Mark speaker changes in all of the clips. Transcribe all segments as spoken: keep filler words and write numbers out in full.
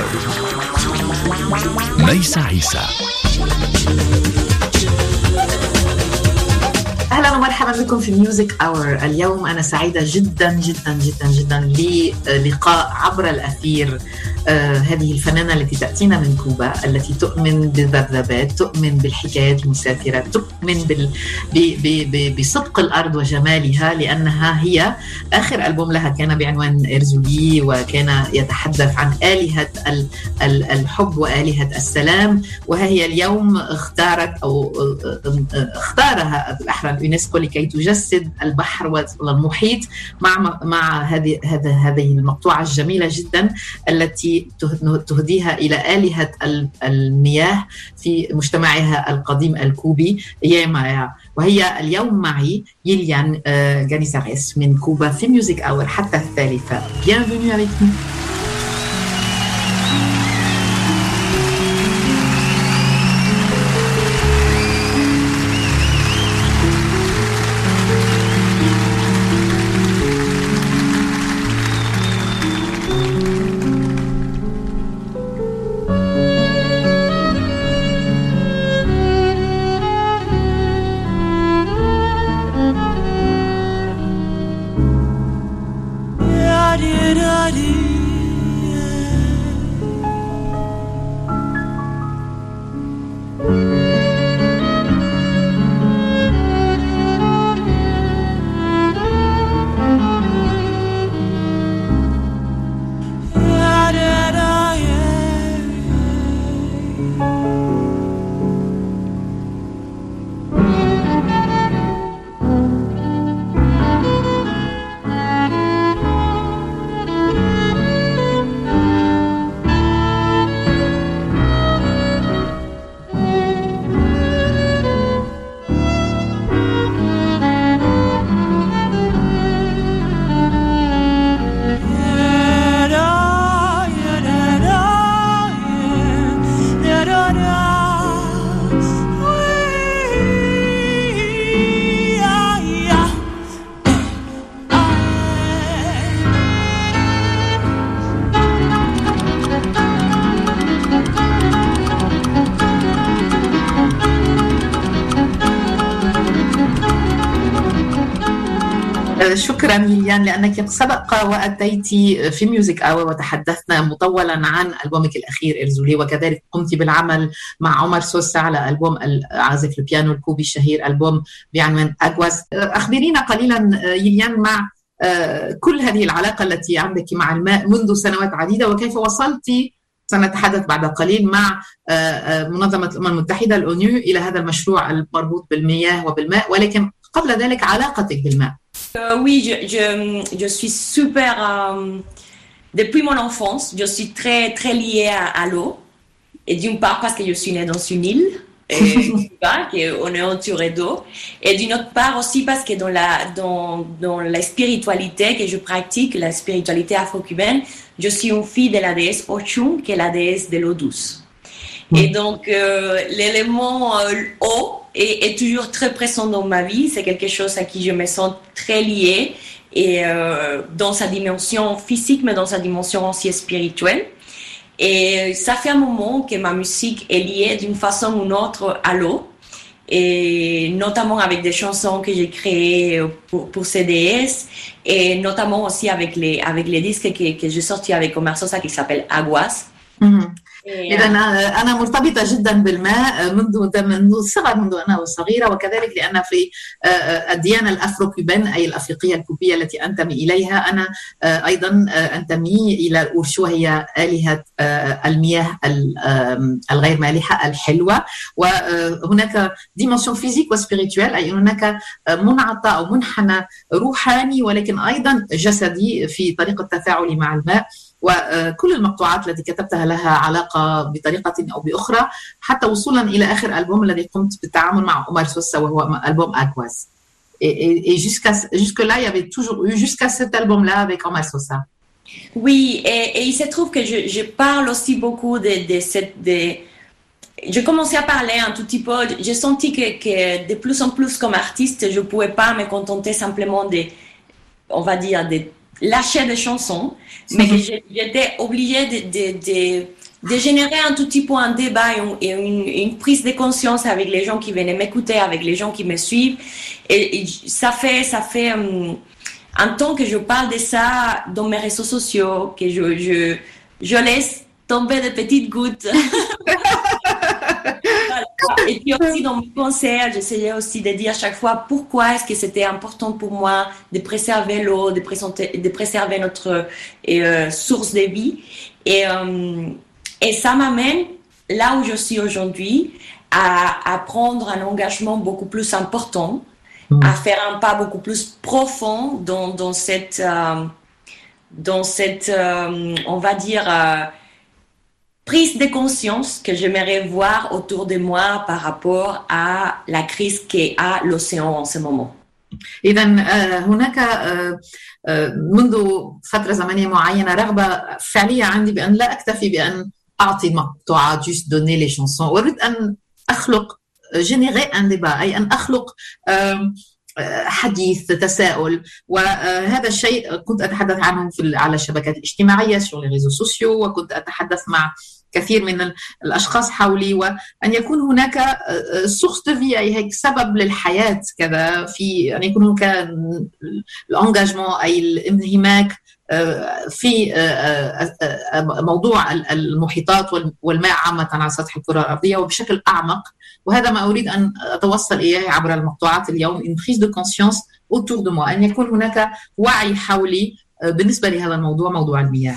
Speaker 1: Hour. ميسة عيسى.
Speaker 2: أهلا ومرحبا بكم في ميوزك أور. اليوم أنا سعيدة جدا جدا جدا جدا للقاء عبر الأثير آه هذه الفنانة التي تأتينا من كوبا، التي تؤمن بالذبذبات، تؤمن بالحكايات المسافرة، تؤمن بال... ب... ب... ب... بصدق الأرض وجمالها، لأنها هي آخر ألبوم لها كان بعنوان إرزولي، وكان يتحدث عن آلهة ال... ال... الحب وآلهة السلام. وهي اليوم اختارت أو اختارها الأحرى اليونسكو لكي تجسد البحر والمحيط مع مع هذه هذه المقطوعة الجميلة جدا التي تهديها إلى آلهة المياه في مجتمعها القديم الكوبي يامايا. وهي اليوم معي يليان جانيساريس من كوبا في ميوزك أور حتى الثالثة. Bienvenue avec nous. شكرا ليليان لأنك سبق وأتيت في ميوزك أور وتحدثنا مطولا عن ألبومك الأخير إرزولي، وكذلك قمت بالعمل مع عمر سوسة على ألبوم عازف البيانو الكوبي الشهير ألبوم بعنوان أغواز. أخبرينا قليلا يليان مع كل هذه العلاقة التي عندك مع الماء منذ سنوات عديدة، وكيف وصلت سنتحدث بعد قليل مع منظمة الأمم المتحدة الأونيو إلى هذا المشروع المربوط بالمياه وبالماء، ولكن قبل ذلك علاقتك بالماء.
Speaker 3: Euh, oui, je, je, je suis super... Euh, depuis mon enfance, je suis très, très liée à, à l'eau. Et d'une part parce que je suis née dans une île, et on est entouré d'eau. Et d'une autre part aussi parce que dans la, dans, dans la spiritualité que je pratique, la spiritualité afro-cubaine, je suis une fille de la déesse Ochun, qui est la déesse de l'eau douce. Mmh. Et donc, euh, l'élément euh, eau, Et est toujours très présent dans ma vie. C'est quelque chose à qui je me sens très liée, et euh, dans sa dimension physique, mais dans sa dimension aussi spirituelle. Et ça fait un moment que ma musique est liée d'une façon ou d'une autre à l'eau, et notamment avec des chansons que j'ai créées pour, pour C D S, et notamment aussi avec les, avec les disques que, que j'ai sortis avec Omar Sosa qui s'appelle Aguas.
Speaker 2: Mm-hmm. إذا أنا مرتبطة جدا بالماء منذ منذ الصغر، منذ أنا صغيرة، وكذلك لأن في الديانة الأفرو-كوبان أي الأفريقية الكوبية التي أنتمي إليها، أنا أيضا أنتمي إلى الأورشو، هي آلهة المياه الغير مالحة الحلوة. وهناك ديمنسيون فيزيك وسبيريتوال، أي هناك منعطى أو منحنى روحاني ولكن أيضا جسدي في طريقة تفاعلي مع الماء. وكل المقطوعات التي كتبتها لها علاقة بطريقة أو بأخرى، حتى وصولا إلى آخر ألبوم الذي قمت بالتعامل مع عمر سوسة وهو ألبوم أغواز. Et, et jusqu'à, jusque-là, il y avait toujours eu, jusqu'à cet album-là avec Omar Sosa.
Speaker 3: Oui, et, et il se trouve que je, je parle aussi beaucoup de, de cette... De... Je commençais à parler un tout petit peu, j'ai senti que, que de plus en plus comme artiste, je ne pouvais pas me contenter simplement de, on va dire, de lâcher des chansons, mais que j'étais obligée de, de, de, de générer un tout petit peu un débat et une, une prise de conscience avec les gens qui venaient m'écouter, avec les gens qui me suivent. Et, et ça fait, ça fait um, un temps que je parle de ça dans mes réseaux sociaux, que je, je, je laisse tomber des petites gouttes. Et puis aussi dans mes concerts, j'essayais aussi de dire à chaque fois pourquoi est-ce que c'était important pour moi de préserver l'eau, de, de préserver notre euh, source de vie. Et, euh, et ça m'amène là où je suis aujourd'hui, à, à prendre un engagement beaucoup plus important, mmh. à faire un pas beaucoup plus profond dans, dans cette, euh, dans cette euh, on va dire, euh, prise de conscience que j'aimerais voir autour de moi par rapport à la crise qu'a l'océan en ce moment.
Speaker 2: إذا هناك منذ فترة زمنية معينة رغبة فعلية عندي بأن لا أكتفي بأن أعطي مقطوعات juste donner les chansons. أريد أن أخلق générer un débat أي أن أخلق حديث تساؤل وهذا الشيء كنت أتحدث عنه في على الشبكات الاجتماعية sur les réseaux sociaux وكنت أتحدث مع كثير من الأشخاص حولي وأن يكون هناك source de vie أي هيك سبب للحياة كذا في أن يكون هناك الانجاجمون أي الانهماك في موضوع المحيطات والماء عامة على سطح الكرة الأرضية وبشكل أعمق وهذا ما أريد أن أتوصل إليه عبر المقطوعات اليوم une prise de conscience autour de moi أن يكون هناك وعي حولي بالنسبة لهذا الموضوع موضوع المياه.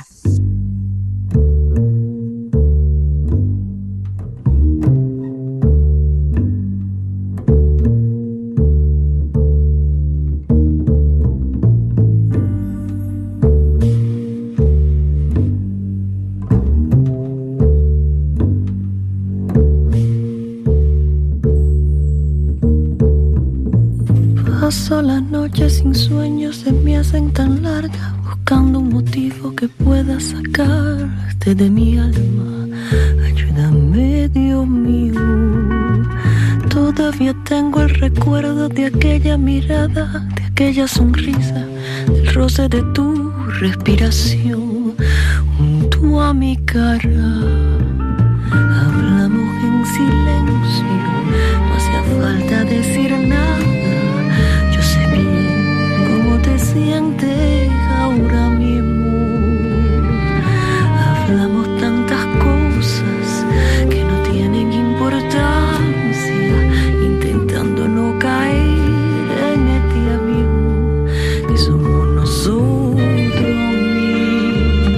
Speaker 1: Paso las noches sin sueños, se me hacen tan largas, buscando un motivo que pueda sacarte de mi alma. Ayúdame, Dios mío. Todavía tengo el recuerdo de aquella mirada, de aquella sonrisa, del roce de tu respiración junto a mi cara. Hablamos en silencio, no hacía falta decir nada. Te sientes ahora mismo. Hablamos tantas cosas que no tienen importancia, intentando no caer en este abismo que somos nosotros mismos.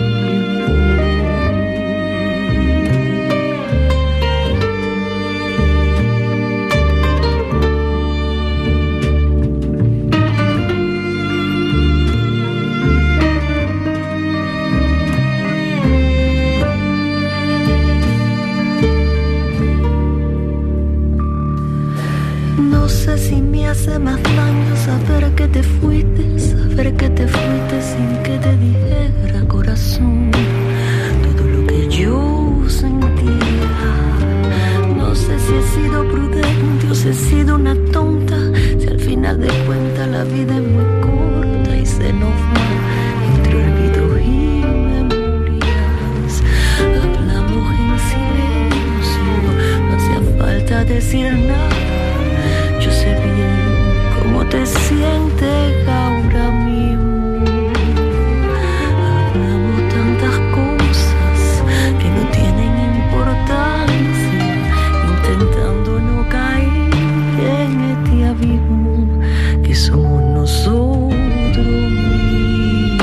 Speaker 1: Si me hace más daño saber que te fuiste, saber que te fuiste sin que te dijera corazón todo lo que yo sentía. No sé si he sido prudente o si he sido una tonta, si al final de cuentas la vida es muy corta y se nos va entre olvidos y memorias. Hablamos en silencio, no hacía falta decir nada. Yo sé bien cómo te sientes ahora mismo. Hablamos tantas cosas que no tienen importancia, intentando no caer en este abismo que somos nosotros mismos.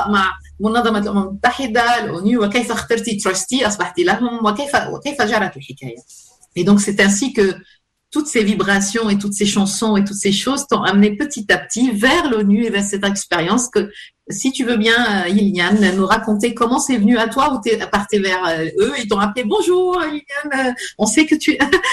Speaker 2: اللقاء مع منظمة الأمم المتحدة الأونيو وكيف اخترتي تراستي أصبحت لهم وكيف وكيف جرت الحكاية. Et donc c'est ainsi que toutes ces vibrations et toutes ces chansons et toutes ces choses t'ont amené petit à petit vers l'ONU et vers cette expérience que si tu veux bien, Liliane, nous raconter comment c'est venu à toi ou t'es partie vers eux, ils t'ont appelé bonjour Liliane, on sait que tu...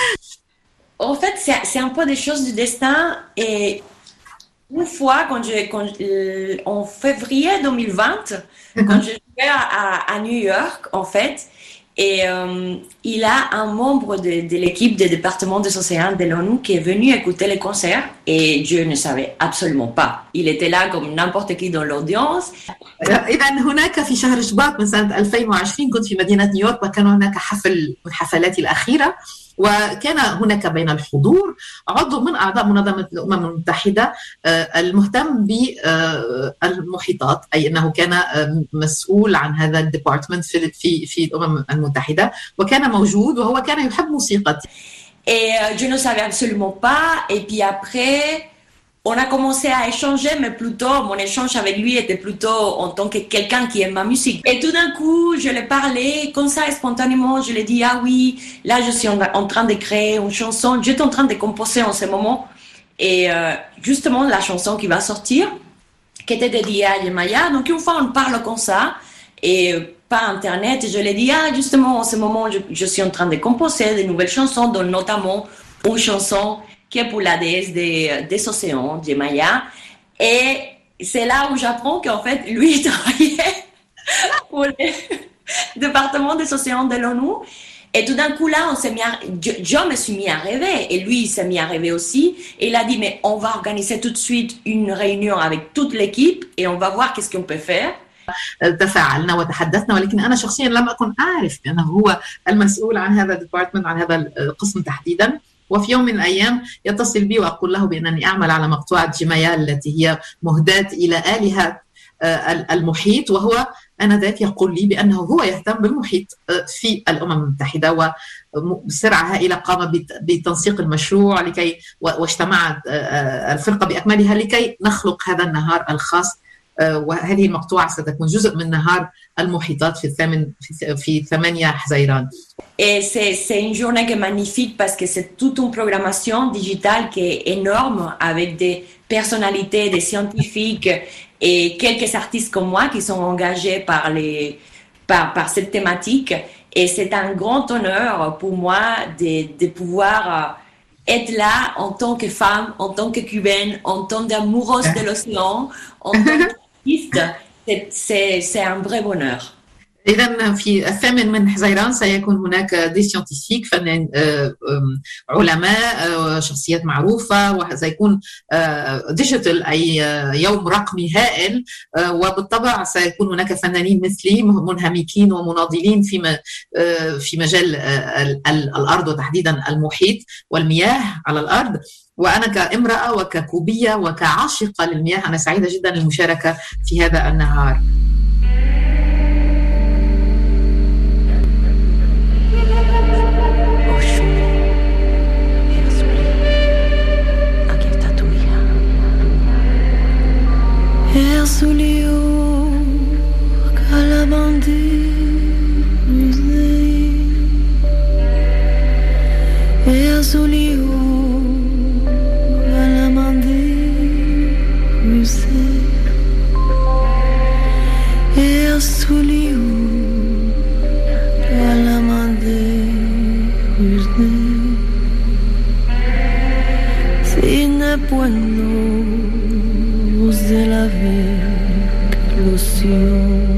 Speaker 3: En fait, c'est, c'est un peu des choses du destin et une fois, quand je, quand, euh, en février deux mille vingt, mm-hmm. quand je jouais à, à, à New York, en fait, et euh, il a un membre de, de l'équipe du département des océans de l'ONU qui est venu écouter les concerts et je ne savais absolument pas. Il était là comme n'importe qui dans l'audience.
Speaker 2: إذا هناك في شهر شباط من سنة ألفين وعشرين كنت في مدينة نيويورك وكان هناك حفل من حفلاتي الأخيرة وكان هناك بين الحضور عضو من أعضاء منظمة الأمم المتحدة المهتم بالمحيطات أي أنه كان مسؤول عن هذا الديبارتمنت في في في الأمم المتحدة وكان موجود وهو كان يحب موسيقتي.
Speaker 3: Et je ne savais absolument pas et puis après on a commencé à échanger, mais plutôt, mon échange avec lui était plutôt en tant que quelqu'un qui aime ma musique. Et tout d'un coup, je lui ai parlé, comme ça, spontanément, je lui ai dit, ah oui, là, je suis en, en train de créer une chanson, j'étais en train de composer en ce moment. Et euh, justement, la chanson qui va sortir, qui était dédiée à Yemaya. Donc, une fois, on parle comme ça, et par Internet, je lui ai dit, ah, justement, en ce moment, je, je suis en train de composer de nouvelles chansons, dont notamment une chanson qui est pour la déesse des, des océans, Yemaya. Et c'est là où j'apprends qu'en fait, lui, il travaillait pour le département des océans de l'ONU. Et tout d'un coup, là, on s'est mis à, je, je me suis mis à rêver. Et lui, il s'est mis à rêver aussi. Et il a dit, mais on va organiser tout de suite une réunion avec toute l'équipe et on va voir qu'est-ce qu'on peut faire.
Speaker 2: تفاعلنا وتحدثنا ولكن أنا شخصيا لم أكن أعرف بأنه هو المسؤول عن هذا الديبارتمنت عن هذا القسم تحديدا. وفي يوم من الأيام يتصل بي وأقول له بأنني أعمل على مقطوعة جيمايا التي هي مهداة إلى آلهة المحيط وهو آنذاك يقول لي بأنه هو يهتم بالمحيط في الأمم المتحدة وبسرعة هائلة قام بتنسيق المشروع لكي واجتمعت الفرقة بأكملها لكي نخلق هذا النهار الخاص وهذه المقطوعة ستكون جزء من نهار المحيطات في الثامن في, في ثمانية حزيران.
Speaker 3: Et c'est, c'est une journée qui est magnifique parce que c'est toute une programmation digitale qui est énorme avec des personnalités, des scientifiques et quelques artistes comme moi qui sont engagés par, les, par, par cette thématique. Et c'est un grand honneur pour moi de, de pouvoir être là en tant que femme, en tant que cubaine, en tant qu'amoureuse de l'océan, en tant qu'artiste. C'est, c'est, c'est un vrai bonheur.
Speaker 2: إذن في الثامن من حزيران سيكون هناك دي سيانتيفيك فنان علماء شخصيات معروفة وسيكون ديجيتال أي يوم رقمي هائل وبالطبع سيكون هناك فنانين مثلي منهمكين ومناضلين في في مجال الأرض وتحديدا المحيط والمياه على الأرض. وأنا كامرأة وككوبية وكعاشقة للمياه أنا سعيدة جدا للمشاركة في هذا النهار.
Speaker 1: Erzulio Calabandi Erzulio Calabandi Erzulio Calabandi Sin pueblo de la avec l'océan.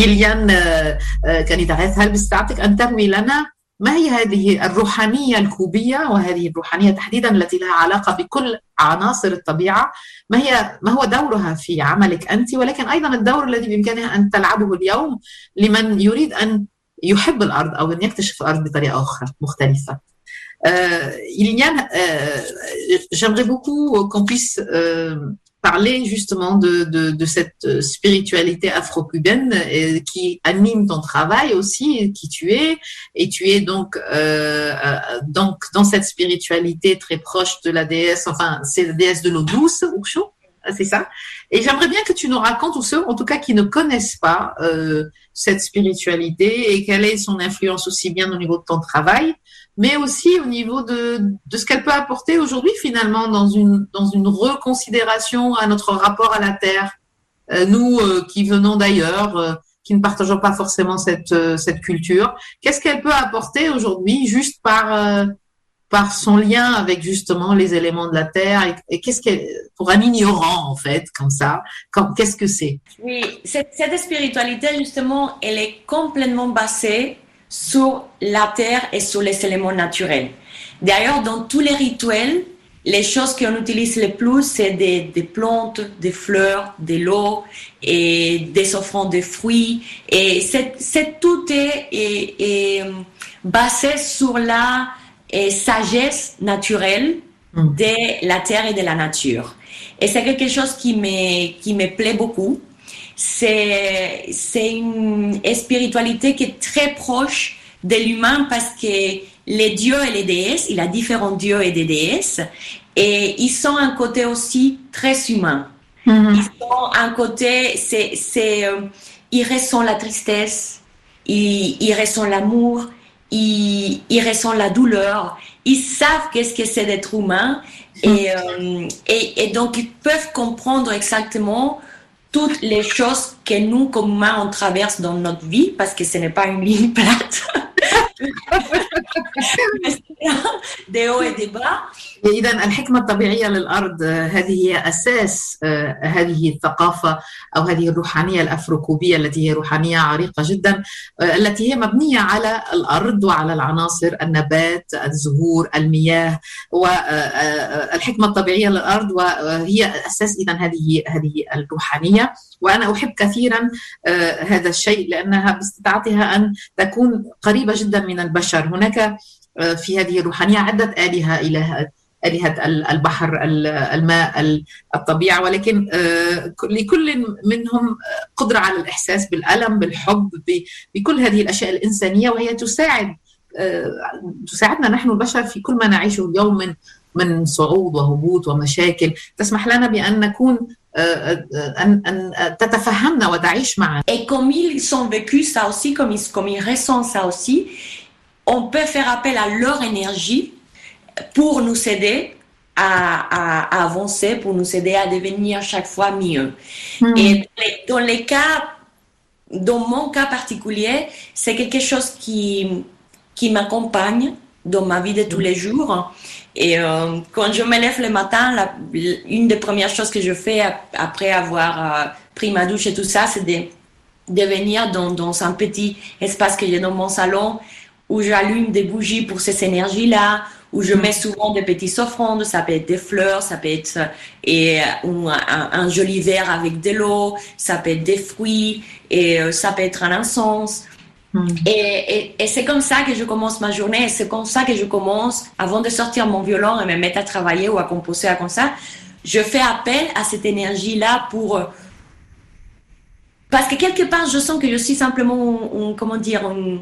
Speaker 2: إليان كانيتاريث، هل باستطاعتك أن تروي لنا ما هي هذه الروحانية الكوبية، وهذه الروحانية تحديدا التي لها علاقة بكل عناصر الطبيعة، ما هي ما هو دورها في عملك أنت، ولكن أيضا الدور الذي بإمكانها أن تلعبه اليوم لمن يريد أن يحب الأرض أو أن يكتشف الأرض بطريقة أخرى مختلفة. Euh, Iliane, euh, j'aimerais beaucoup qu'on puisse euh, parler justement de, de, de cette spiritualité afro-cubaine euh, qui anime ton travail aussi, qui tu es, et tu es donc, euh, donc dans cette spiritualité très proche de la déesse, enfin c'est la déesse de l'eau douce, Urshu, c'est ça. Et j'aimerais bien que tu nous racontes, ou ceux en tout cas qui ne connaissent pas euh, cette spiritualité et quelle est son influence aussi bien au niveau de ton travail, mais aussi au niveau de, de ce qu'elle peut apporter aujourd'hui finalement dans une, dans une reconsidération à notre rapport à la Terre. Euh, nous euh, qui venons d'ailleurs, euh, qui ne partageons pas forcément cette, euh, cette culture, qu'est-ce qu'elle peut apporter aujourd'hui juste par, euh, par son lien avec justement les éléments de la Terre et, et qu'est-ce qu'elle, pour un ignorant en fait, comme ça, comme, qu'est-ce que c'est?
Speaker 3: Oui, cette, cette spiritualité justement, elle est complètement basée sur la terre et sur les éléments naturels. D'ailleurs, dans tous les rituels, les choses qu'on utilise le plus, c'est des, des plantes, des fleurs, de l'eau et des offrandes de fruits. Et c'est, c'est tout est, est, est basé sur la et sagesse naturelle mm. de la terre et de la nature. Et c'est quelque chose qui me, qui me plaît beaucoup. C'est, c'est une spiritualité qui est très proche de l'humain parce que les dieux et les déesses, il y a différents dieux et des déesses, et ils sont un côté aussi très humain. Mm-hmm. Ils sont un côté, c'est, c'est, euh, ils ressentent la tristesse, ils, ils ressentent l'amour, ils, ils ressentent la douleur, ils savent qu'est-ce que c'est d'être humain, mm-hmm. et, euh, et, et donc ils peuvent comprendre exactement toutes les choses que nous, comme humains, on traverse dans notre vie, parce que ce n'est pas une ligne plate. des hauts et des bas.
Speaker 2: إذا الحكمة الطبيعية للأرض هذه هي أساس هذه الثقافة أو هذه الروحانية الأفروكوبية التي هي روحانية عريقة جدا، التي هي مبنية على الأرض وعلى العناصر النبات، الزهور، المياه، والحكمة الطبيعية للأرض وهي أساس إذا هذه هذه الروحانية. وأنا أحب كثيرا هذا الشيء لأنها باستطاعتها أن تكون قريبة جدا من البشر. هناك في هذه الروحانية عدة آلهة، إله آلهة البحر، الماء، الطبيعة، ولكن لكل منهم قدرة على الإحساس بالألم، بالحب، بكل هذه الأشياء الإنسانية، وهي تساعد تساعدنا نحن البشر في كل ما نعيشه اليوم من من صعود وهبوط ومشاكل، تسمح لنا بأن نكون أن أن تتفهمنا وتعيش معنا.
Speaker 3: Et comme ils ont vécu ça aussi, comme ils comme ils ressentent ça aussi, on peut faire appel à leur énergie pour nous aider à, à, à avancer, pour nous aider à devenir chaque fois mieux. Mmh. Et dans les cas, dans mon cas particulier, c'est quelque chose qui, qui m'accompagne dans ma vie de tous les jours. Et euh, quand je me lève le matin, la, une des premières choses que je fais après avoir euh, pris ma douche et tout ça, c'est de, de venir dans, dans un petit espace que j'ai dans mon salon où j'allume des bougies pour ces énergies-là, où je mets souvent des petites offrandes, ça peut être des fleurs, ça peut être et, un, un, un joli verre avec de l'eau, ça peut être des fruits, et ça peut être un encens. Mm. Et, et, et c'est comme ça que je commence ma journée, et c'est comme ça que je commence, avant de sortir mon violon et me mettre à travailler ou à composer comme ça, je fais appel à cette énergie-là pour... Parce que quelque part, je sens que je suis simplement, un, comment dire... Un,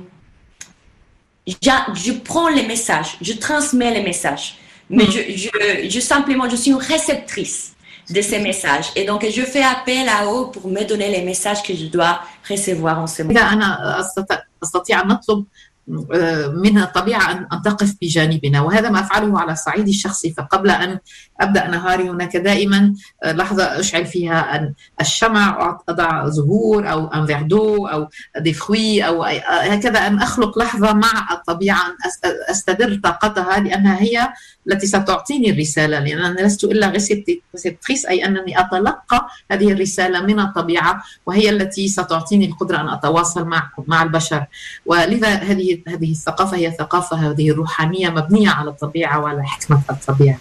Speaker 3: Je, je prends les messages, je transmets les messages, mais mmh. je, je, je simplement, je suis une réceptrice de ces messages, et donc je fais appel à eux pour me donner les messages que je dois recevoir en ce moment.
Speaker 2: إذا أنا أستطيع أن نطلب من الطبيعة أن تقف بجانبنا، وهذا ما أفعله على الصعيد الشخصي. فقبل أن أبدأ نهاري هناك دائما لحظة أشعل فيها أن الشمع، أضع زهور أو أن فيردو أو دي فروي أو هكذا، أن أخلق لحظة مع الطبيعة، أن أستدر طاقتها، لأنها هي التي ستعطيني الرسالة، لأن أنا لست إلا ريسبتريس، أي أنني أتلقى هذه الرسالة من الطبيعة، وهي التي ستعطيني القدرة أن أتواصل مع مع البشر. ولذا هذه هذه الثقافة هي ثقافة هذه الروحانية مبنية على الطبيعة وعلى حكمة الطبيعة.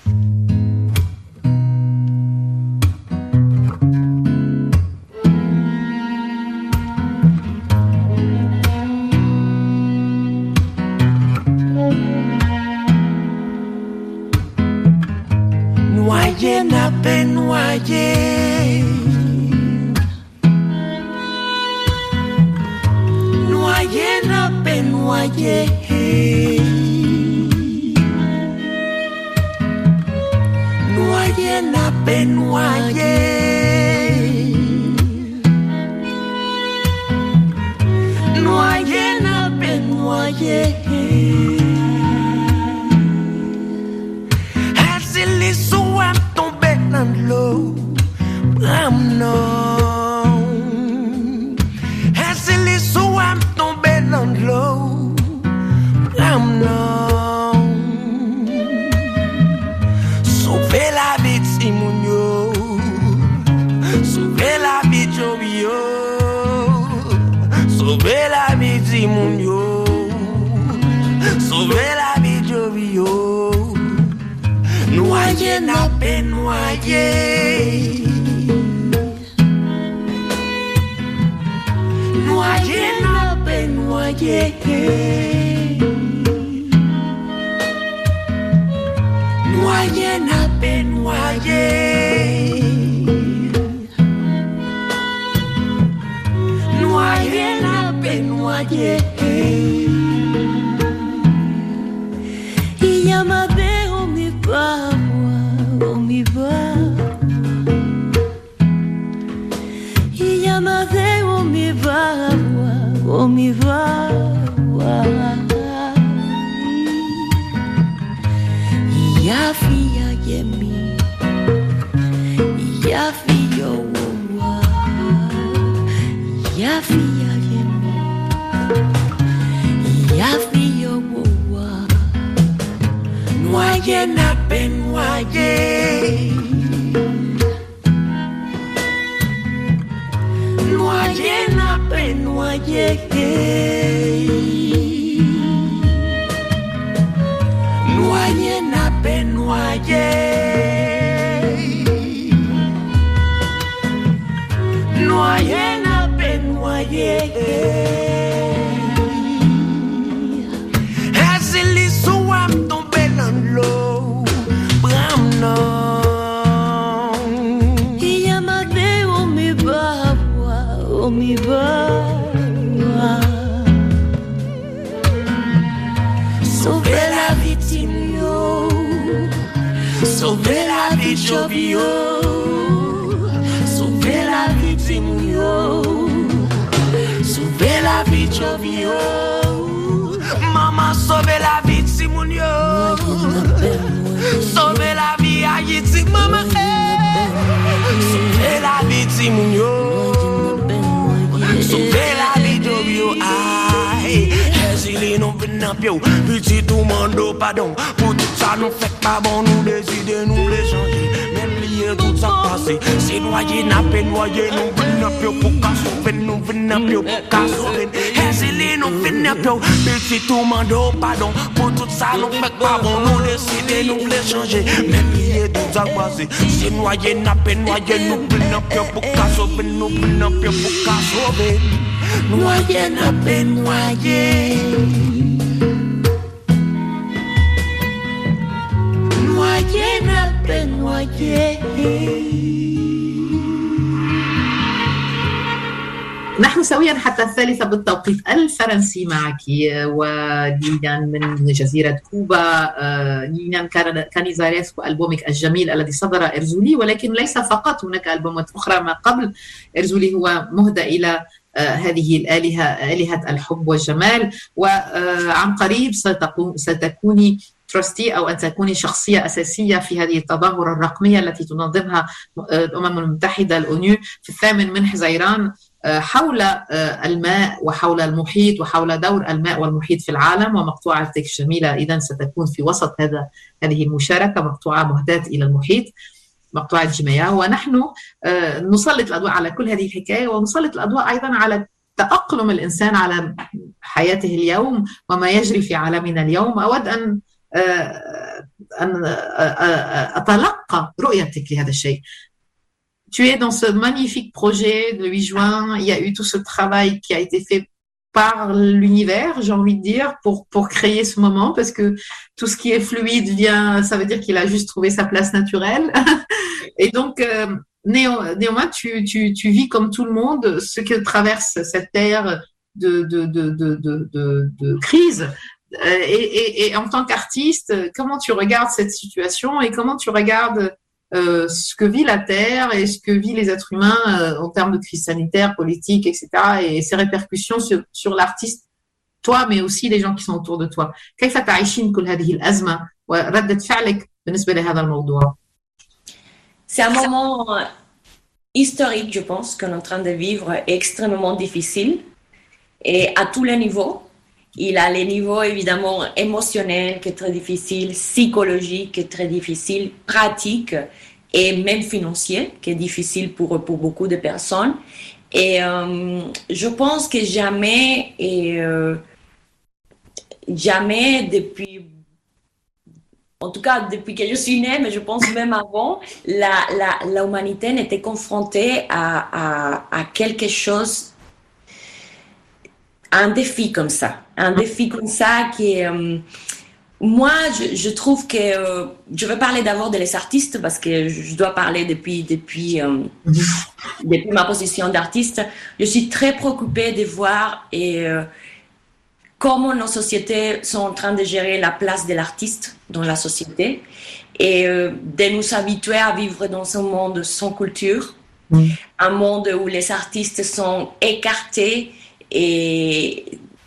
Speaker 4: Noyé n'a pas noyé, noyé n'a pas noyé, noyé n'a pas noyé, noyé n'a pas noyé. L'eau, non. Est-ce les soins tombés dans l'eau? Non. Sauver la vie de Simonio, sauver la vie de Jobio, sauver la vie de Simonio, sauver la vie de Jobio. Noyé n'a pas noyé, noyé n'a pas noyé, noyé n'a pas noyé, noyé n'a pas noyé. Il y a ma belle on m'y va, il y a ma vie, on m'y va, on m'y va, il y a fille à Yemi, il y a fille au Wawa, il y a fille à Yemi, il y a fille au Wawa. Noyé n'a pas noyé, noyé n'a pas noyé, noyé n'a pas noyé, noyé n'a pas noyé. Est-ce les soins tombés dans l'eau? Non. Il y a ma vie, on m'y va, on m'y va. Sauver la vie de Timio, sauver la vie de Jobio, sauver la vie de Timio, sauver la vie de Jobio. Maman, sauver la vie de Simonio, sauver la vie à Haïti, maman. Sauver la vie de Simonio, sauver la vie de Jobio. Aïe, les non venant pied, petit tout monde pardon. Pour tout ça, nous fait pas bon, nous décider, nous les changer. Même lier tout ça passé, c'est noyé, n'a pas noyé, nous venant pied pour qu'à sauver, nous venant pied pour qu'à sauver. Les non venant pied, petit tout monde pardon. Pour tout ça, nous fait pas bon, nous décider, nous les changer. Même lier tout ça passé, c'est noyé, n'a pas noyé, nous venant pied pour qu'à sauver, nous venant pied pour qu'à sauver. Noyé n'a pas noyé, noyé n'a pas noyé.
Speaker 2: نحن سويا حتى الثالثة بالتوقيت الفرنسي معك وليليان من جزيرة كوبا. ليليان كانيزاريسكو ألبومك الجميل الذي صدر إرزولي، ولكن ليس فقط، هناك ألبومات أخرى ما قبل إرزولي هو مهدى إلى هذه الآلهة آلهة الحب والجمال. وعن قريب ستكوني تراستي أو أن تكوني شخصية أساسية في هذه التظاهرة الرقمية التي تنظمها الأمم المتحدة الأونيو في الثامن من حزيران حول الماء وحول المحيط وحول دور الماء والمحيط في العالم. ومقطوعتك الجميلة إذن ستكون في وسط هذا هذه المشاركة، مقطوعة مهداة إلى المحيط، مقطوعة جميع. ونحن نسلط الأضواء على كل هذه الحكاية، ونسلط الأضواء أيضا على تأقلم الإنسان على حياته اليوم وما يجري في عالمنا اليوم. أود أن أن أتلقى رؤيتك لهذا الشيء. Tu es dans ce magnifique projet de huit juin. Il y a eu tout ce travail qui a été fait par l'univers, j'ai envie de dire, pour, pour créer ce moment, parce que tout ce qui est fluide vient, ça veut dire qu'il a juste trouvé sa place naturelle. Et donc, euh, néanmoins, tu, tu, tu vis comme tout le monde ce que traverse cette ère de, de, de, de, de, de, de crise. Et, et, et en tant qu'artiste, comment tu regardes cette situation et comment tu regardes euh, ce que vit la Terre et ce que vivent les êtres humains euh, en termes de crise sanitaire, politique, et cetera, et ses répercussions sur, sur l'artiste, toi, mais aussi les gens qui sont autour de toi. كيف تعيشين كل هذه الأزمة وردة فعلك بالنسبة لهذا الموضوع؟
Speaker 3: C'est un moment historique, je pense, qu'on est en train de vivre, extrêmement difficile, et à tous les niveaux. Il a les niveaux évidemment émotionnels qui est très difficile, psychologique qui est très difficile, pratique et même financier qui est difficile pour, pour beaucoup de personnes. Et euh, je pense que jamais, et, euh, jamais depuis, en tout cas depuis que je suis née, mais je pense même avant, la, la, l'humanité n'était confrontée à, à, à quelque chose, un défi comme ça, un défi comme ça qui est... Euh, moi, je, je trouve que... Euh, je vais parler d'abord des artistes parce que je dois parler depuis, depuis, euh, depuis ma position d'artiste. Je suis très préoccupée de voir et, euh, comment nos sociétés sont en train de gérer la place de l'artiste dans la société et euh, de nous habituer à vivre dans un monde sans culture, mmh. un monde où les artistes sont écartés et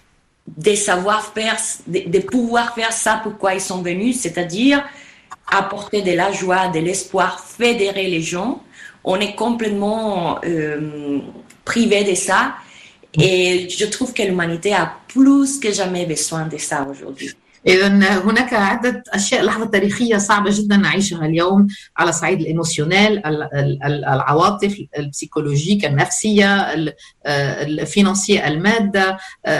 Speaker 3: de savoir faire, de, de pouvoir faire ça pourquoi ils sont venus, c'est-à-dire apporter de la joie, de l'espoir, fédérer les gens. On est complètement euh, privé de ça et je trouve que l'humanité a plus que jamais besoin de ça aujourd'hui.
Speaker 2: إذن هناك عدة أشياء، لحظة تاريخية صعبة جدا نعيشها اليوم على صعيد الإيموسيونيل، العواطف، البسيكولوجيك، النفسية، الفينانسية، المادة،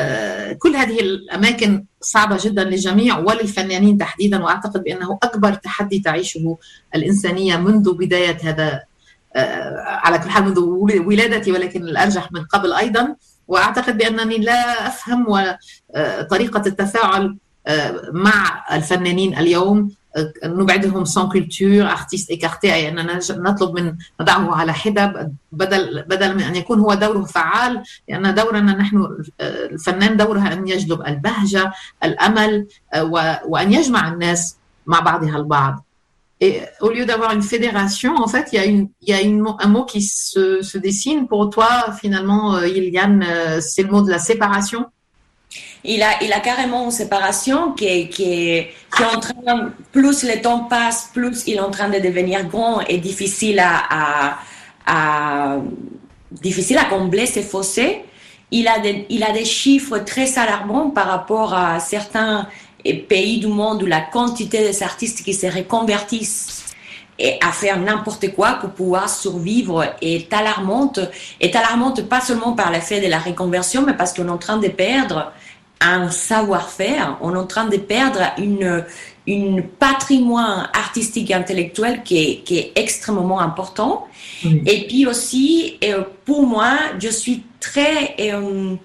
Speaker 2: كل هذه الأماكن صعبة جدا للجميع وللفنانين تحديدا. وأعتقد بأنه أكبر تحدي تعيشه الإنسانية منذ بداية هذا، على كل حال منذ ولادتي، ولكن الأرجح من قبل أيضا. وأعتقد بأنني لا أفهم طريقة التفاعل مع الفنانين اليوم، نبعدهم sans culture، artistes écartés، أي أننا نطلب من نضعه على حدة بدل بدل من أن يكون هو دوره فعال، لأن دورنا نحن الفنان دورها أن يجلب البهجة، الأمل، وأن يجمع الناس مع بعضها البعض. Et au lieu d'avoir une fédération, en fait, il y a, une, il y a une, un mot qui se, se dessine. Pour toi, finalement, Iliane, c'est le mot de la séparation.
Speaker 3: Il a, il a carrément une séparation qui est, qui est, qui est en train, plus le temps passe, plus il est en train de devenir grand et difficile à, à, à, difficile à combler ces fossés. Il a des, il a des chiffres très alarmants par rapport à certains pays du monde où la quantité des artistes qui se reconvertissent et à faire n'importe quoi pour pouvoir survivre est alarmante. Est alarmante pas seulement par l'effet de la reconversion, mais parce qu'on est en train de perdre un savoir-faire, on est en train de perdre une, une patrimoine artistique et intellectuel qui est, qui est extrêmement important. Mmh. Et puis aussi, pour moi, je suis très euh,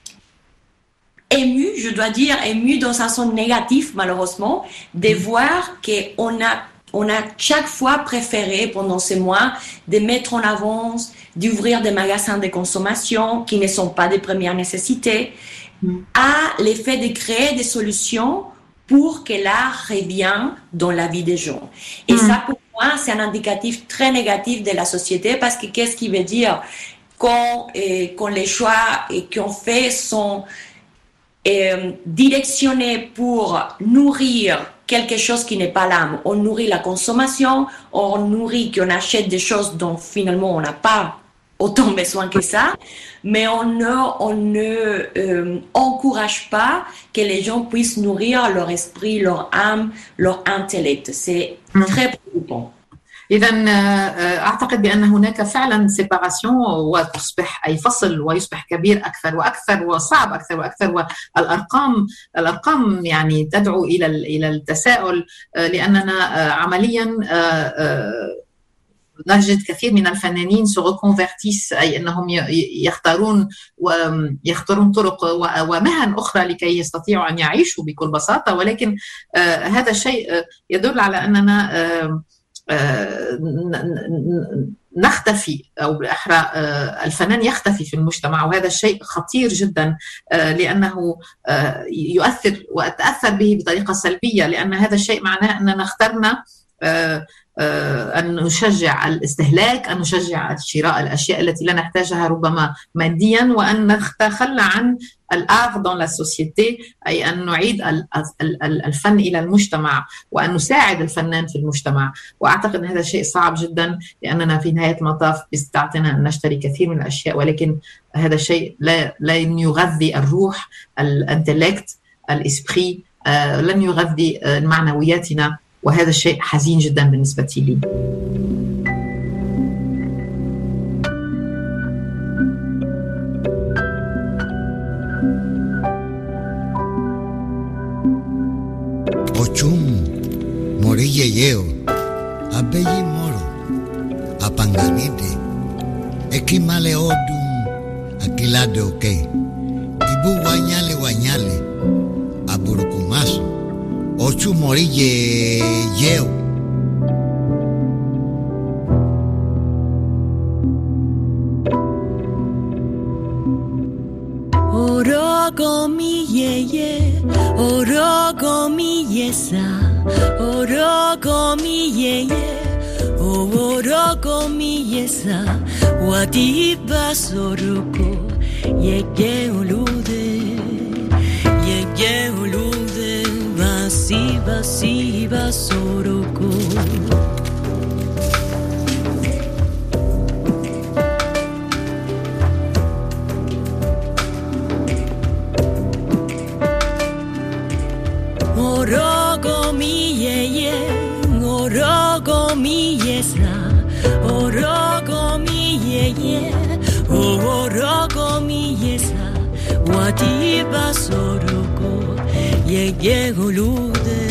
Speaker 3: émue, je dois dire, émue dans un sens négatif, malheureusement, de mmh. voir qu'on a On a chaque fois préféré pendant ces mois de mettre en avant, d'ouvrir des magasins de consommation qui ne sont pas de première nécessité, mmh. à l'effet de créer des solutions pour que l'art revienne dans la vie des gens. Et mmh. ça, pour moi, c'est un indicatif très négatif de la société parce que qu'est-ce qui veut dire? quand, et, quand les choix et qu'on fait sont euh, directionnés pour nourrir quelque chose qui n'est pas l'âme. On nourrit la consommation, on nourrit qu'on achète des choses dont finalement on n'a pas autant besoin que ça, mais on ne, on ne euh, encourage pas que les gens puissent nourrir leur esprit, leur âme, leur intellect. C'est très préoccupant.
Speaker 2: إذا أعتقد بأن هناك فعلا سيباراسيون وتصبح أي فصل ويصبح كبير أكثر وأكثر وصعب أكثر وأكثر والأرقام الأرقام يعني تدعو إلى إلى التساؤل لأننا عمليا نجد كثير من الفنانين se reconvertissent أي أنهم يختارون ويختارون طرق ومهن أخرى لكي يستطيعوا أن يعيشوا بكل بساطة ولكن هذا الشيء يدل على أننا نختفي أو بالأحرى الفنان يختفي في المجتمع وهذا الشيء خطير جدا لأنه يؤثر وأتأثر به بطريقة سلبية لأن هذا الشيء معناه أننا اخترنا أن نشجع الاستهلاك أن نشجع شراء الأشياء التي لا نحتاجها ربما ماديا وأن نتخلى عن الآر dans la société أي أن نعيد الفن إلى المجتمع وأن نساعد الفنان في المجتمع وأعتقد أن هذا شيء صعب جدا لأننا في نهاية المطاف بيستطيعنا أن نشتري كثير من الأشياء ولكن هذا الشيء لا, لا يغذي الروح الانتلكت الإسبري لن يغذي معنوياتنا وهذا الشيء حزين جدا بالنسبة لي.
Speaker 5: Ochum, morille yeo, abeyi moro, apanganide, ekimale odum, akilade oke, ibu wanyale wanyale, aburukumaso. Ochu morille yeo.
Speaker 1: Orogo mi yeye, orogo mi yesa, orogo mi yeye, orogo mi yesa, wadiba soruko, yege ulude, yege ulude. Siva, siva, soroko. Orogo mi yeye, orogo mi yesa, orogo mi yeye, orogo mi yesa, wadiba soroko. Yege ulude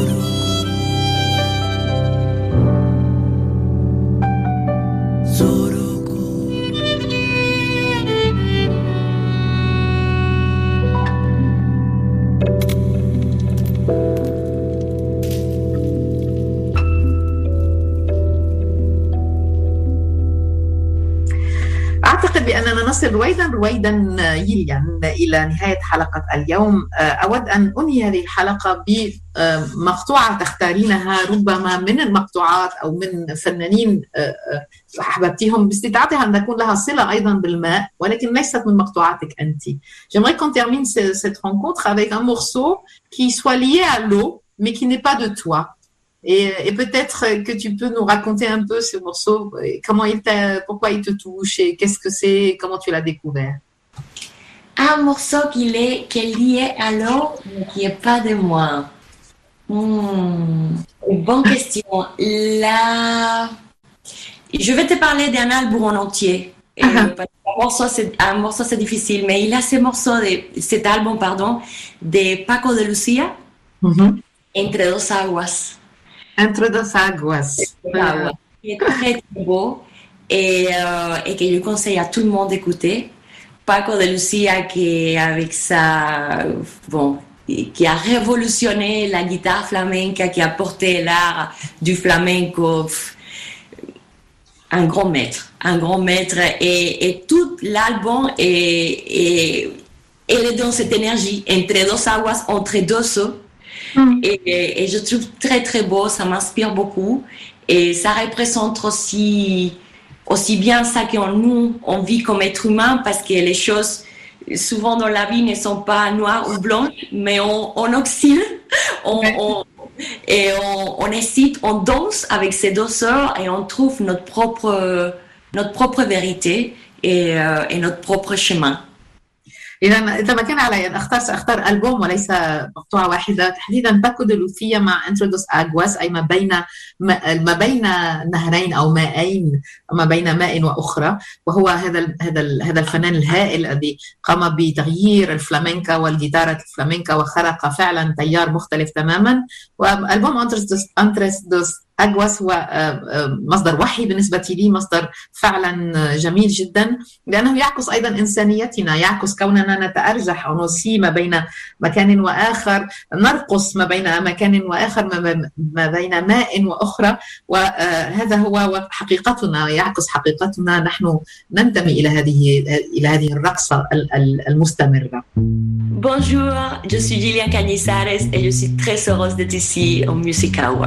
Speaker 1: Zoro
Speaker 2: نصل رويدا رويدا يليا إلى نهاية حلقة اليوم. أود أن أنهي هذه الحلقة بمقطوعة تختارينها ربما من المقطوعات أو من فنانين أحببتيهم باستطاعتها أن تكون لها صلة أيضا بالماء ولكن ليست من مقطوعاتك أنت. J'aimerais qu'on termine cette rencontre avec un morceau qui soit lié à l'eau mais qui n'est pas de toi. Et, et peut-être que tu peux nous raconter un peu ce morceau, comment il t'a, pourquoi il te touche et qu'est-ce que c'est, comment tu l'as découvert.
Speaker 3: Un morceau qui est, qui est lié à l'eau, mais qui n'est pas de moi. Hmm, bonne question. Là, je vais te parler d'un album en entier. Et uh-huh. un, morceau, c'est, un morceau, c'est difficile, mais il a ce morceau, de, cet album, pardon, de Paco de Lucía, uh-huh. Entre dos aguas.
Speaker 2: Entre dos aguas.
Speaker 3: Ah, ouais. Qui est très, très beau et, euh, et que je conseille à tout le monde d'écouter. Paco de Lucía qui, avec sa, bon, qui a révolutionné la guitare flamenca, qui a porté l'art du flamenco. Un grand maître, un grand maître. Et, et tout l'album est, est, est dans cette énergie, entre dos aguas, entre deux eaux. Mm. Et, et je trouve très très beau, ça m'inspire beaucoup et ça représente aussi, aussi bien ça que nous on vit comme être humain parce que les choses souvent dans la vie ne sont pas noires ou blanches mais on, on oscille on, ouais. on, et on, on hésite, on danse avec ces deux sœurs et on trouve notre propre, notre propre vérité et, euh, et notre propre chemin.
Speaker 2: إذا إذا ما كان علي أن أختار سأختار ألبوم وليس مقطوعة واحدة تحديدا باكو دي لوثيا مع Entre dos aguas أي ما بين ما بين نهرين أو مائين ما بين ماء وأخرى وهو هذا هذا هذا الفنان الهائل الذي قام بتغيير الفلامنكا والجيتارة الفلامنكا وخلق فعلا تيار مختلف تماما. وألبوم Entre dos أجواس هو مصدر وحي بالنسبة لي مصدر فعلا جميل جدا لأنه يعكس أيضا إنسانيتنا يعكس كوننا نتأرجح أو نسي ما بين مكان وآخر نرقص ما بين مكان وآخر ما بين ماء وأخرى وهذا هو حقيقتنا يعكس حقيقتنا نحن ننتمي إلى هذه إلى هذه الرقصة المستمرة.
Speaker 3: Bonjour, je suis Gillian Canizares et je suis très heureuse d'être ici au Music Hour.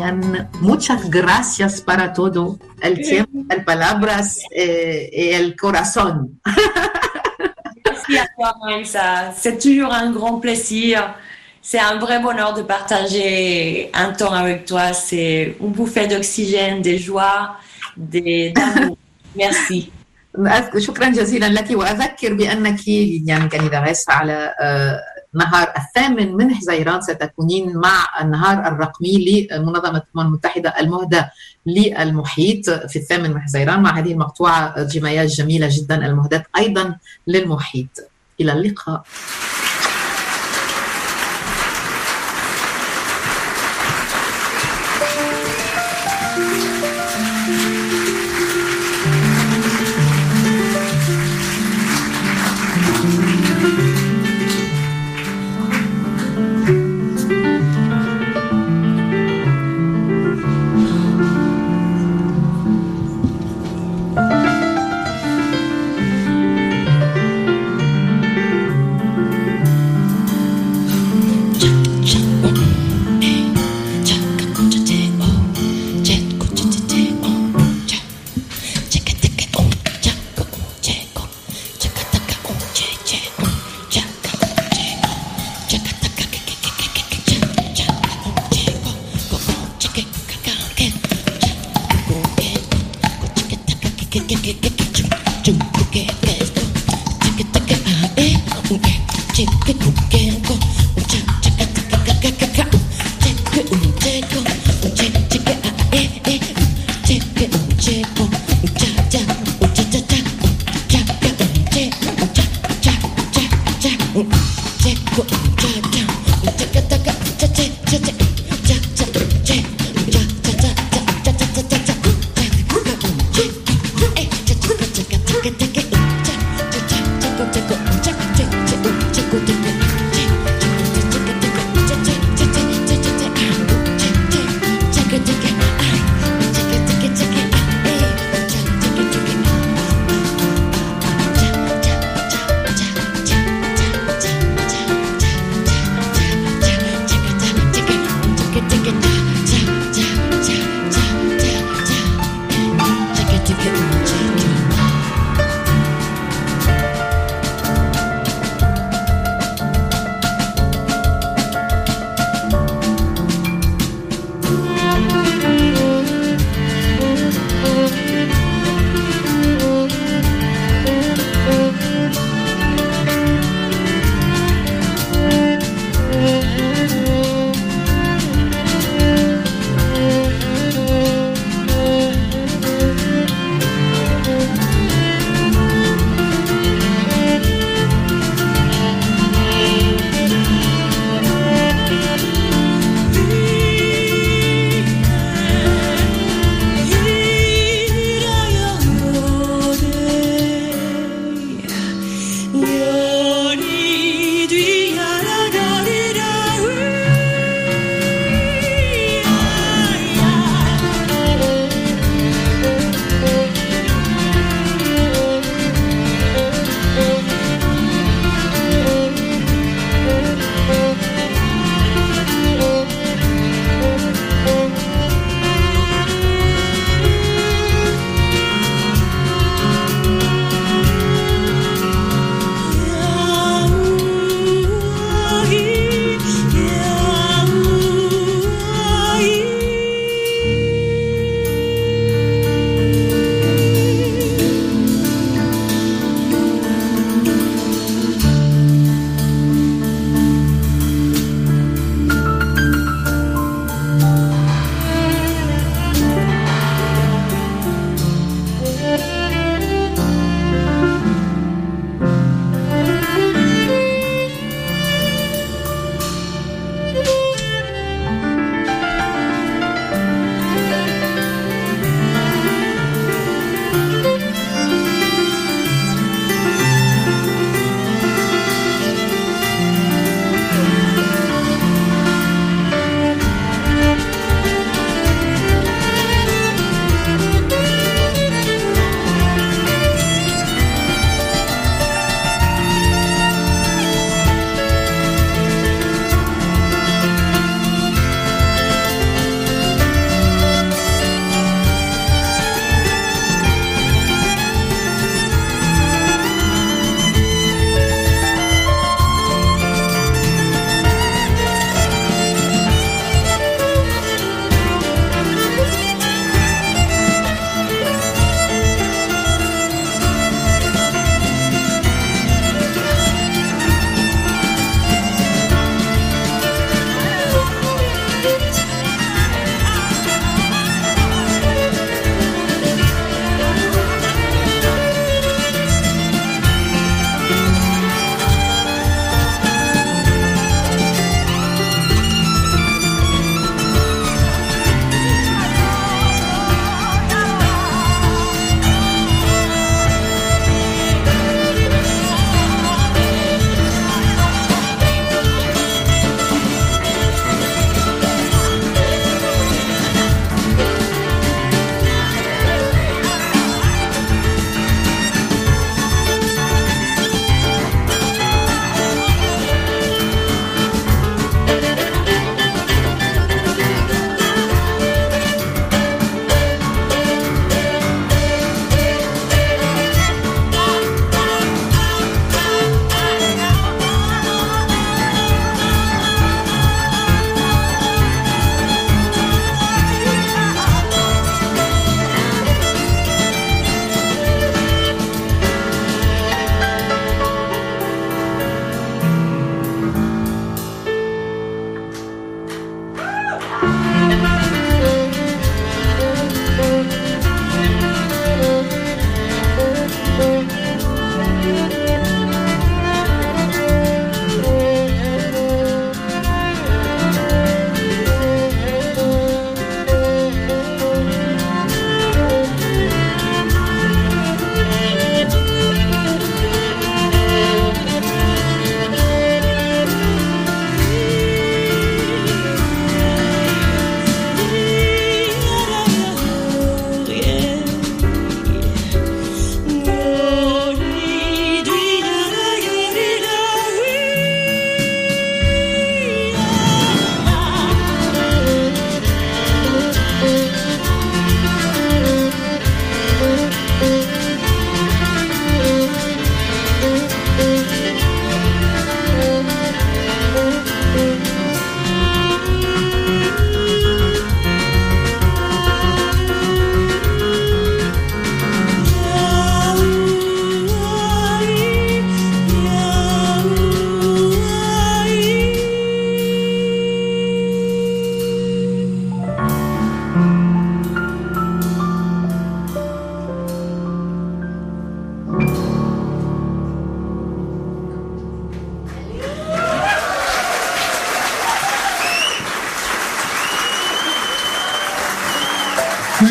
Speaker 2: Shukran, muchas gracias para todo. El tiempo, el palabras et, et el corazón.
Speaker 3: Merci à toi, Maïssa. C'est toujours un grand plaisir. C'est un vrai bonheur de partager un temps avec toi. C'est une bouffée d'oxygène, de joie, de, d'amour. Merci.
Speaker 2: شكرا جزيلا لك. وأذكر بأنك يعني كندغس على نهار الثامن من حزيران ستكونين مع النهار الرقمي لمنظمة الأمم المتحدة المهدى للمحيط في الثامن من حزيران مع هذه المقطوعة جمايات جميلة جدا المهداة أيضا للمحيط. إلى اللقاء.
Speaker 6: Check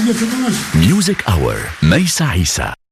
Speaker 6: Music Hour, Maïssa Issa.